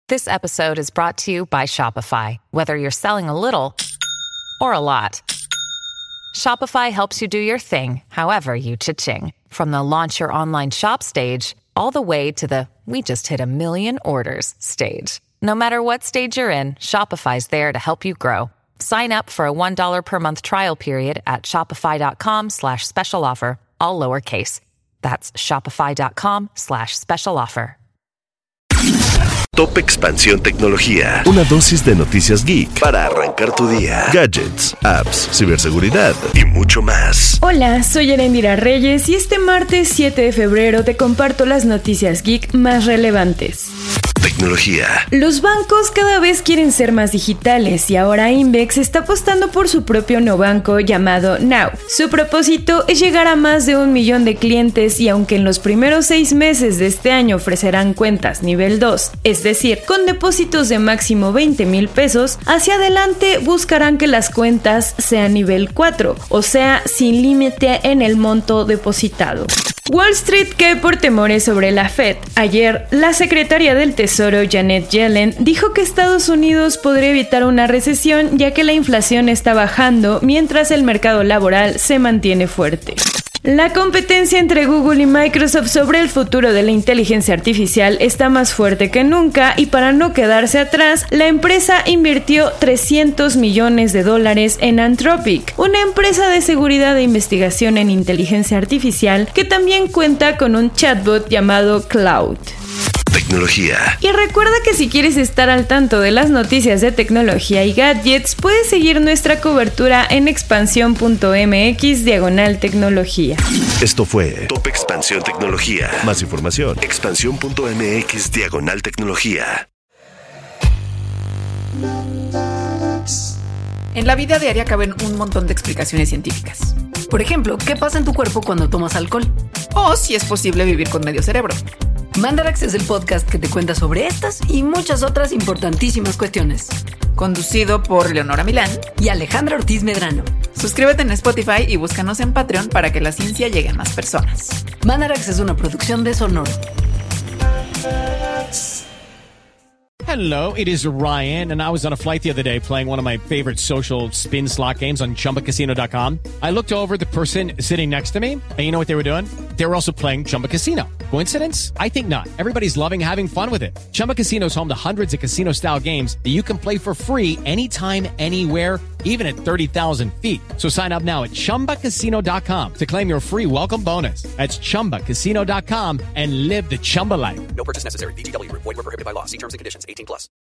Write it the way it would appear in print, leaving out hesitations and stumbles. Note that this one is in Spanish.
This episode is brought to you by Shopify. Whether you're selling a little or a lot, Shopify helps you do your thing, however you cha-ching. From the launch your online shop stage, all the way to the we just hit 1 million orders stage. No matter what stage you're in, Shopify's there to help you grow. Sign up for a $1 per month trial period at shopify.com/special offer, all lowercase. That's shopify.com/special offer. Top Expansión Tecnología. Una dosis de noticias geek para arrancar tu día. Gadgets, apps, ciberseguridad y mucho más. Hola, soy Erendira Reyes y este martes 7 de febrero te comparto las noticias geek más relevantes. Tecnología. Los bancos cada vez quieren ser más digitales y ahora Invex está apostando por su propio neobanco llamado Now. Su propósito es llegar a más de 1 millón de clientes y aunque en los primeros 6 meses de este año ofrecerán cuentas nivel 2, es decir, con depósitos de máximo 20,000 pesos, hacia adelante buscarán que las cuentas sean nivel 4, o sea, sin límite en el monto depositado. Wall Street cae por temores sobre la Fed. Ayer, la secretaria del Tesoro Janet Yellen dijo que Estados Unidos podría evitar una recesión ya que la inflación está bajando mientras el mercado laboral se mantiene fuerte. La competencia entre Google y Microsoft sobre el futuro de la inteligencia artificial está más fuerte que nunca y para no quedarse atrás, la empresa invirtió $300 millones en Anthropic, una empresa de seguridad e investigación en inteligencia artificial que también cuenta con un chatbot llamado Cloud. Tecnología. Y recuerda que si quieres estar al tanto de las noticias de tecnología y gadgets, puedes seguir nuestra cobertura en expansión.mx/tecnología. Esto fue Top Expansión Tecnología. Más información, expansión.mx/tecnología. En la vida diaria caben un montón de explicaciones científicas. Por ejemplo, ¿qué pasa en tu cuerpo cuando tomas alcohol? O si es posible vivir con medio cerebro. Mandarax es el podcast que te cuenta sobre estas y muchas otras importantísimas cuestiones. Conducido por Leonora Milán y Alejandra Ortiz Medrano. Suscríbete en Spotify y búscanos en Patreon para que la ciencia llegue a más personas. Mandarax es una producción de Sonoro. Hello, it is Ryan, and I was on a flight the other day playing one of my favorite social spin slot games on ChumbaCasino.com. I looked over at the person sitting next to me, and you know what they were doing? They were also playing Chumba Casino. Coincidence? I think not. Everybody's loving having fun with it. Chumba Casino is home to hundreds of casino-style games that you can play for free anytime, anywhere, even at 30,000 feet. So sign up now at ChumbaCasino.com to claim your free welcome bonus. That's ChumbaCasino.com and live the Chumba life. No purchase necessary. VGW. Void where prohibited by law. See terms and conditions. 18+.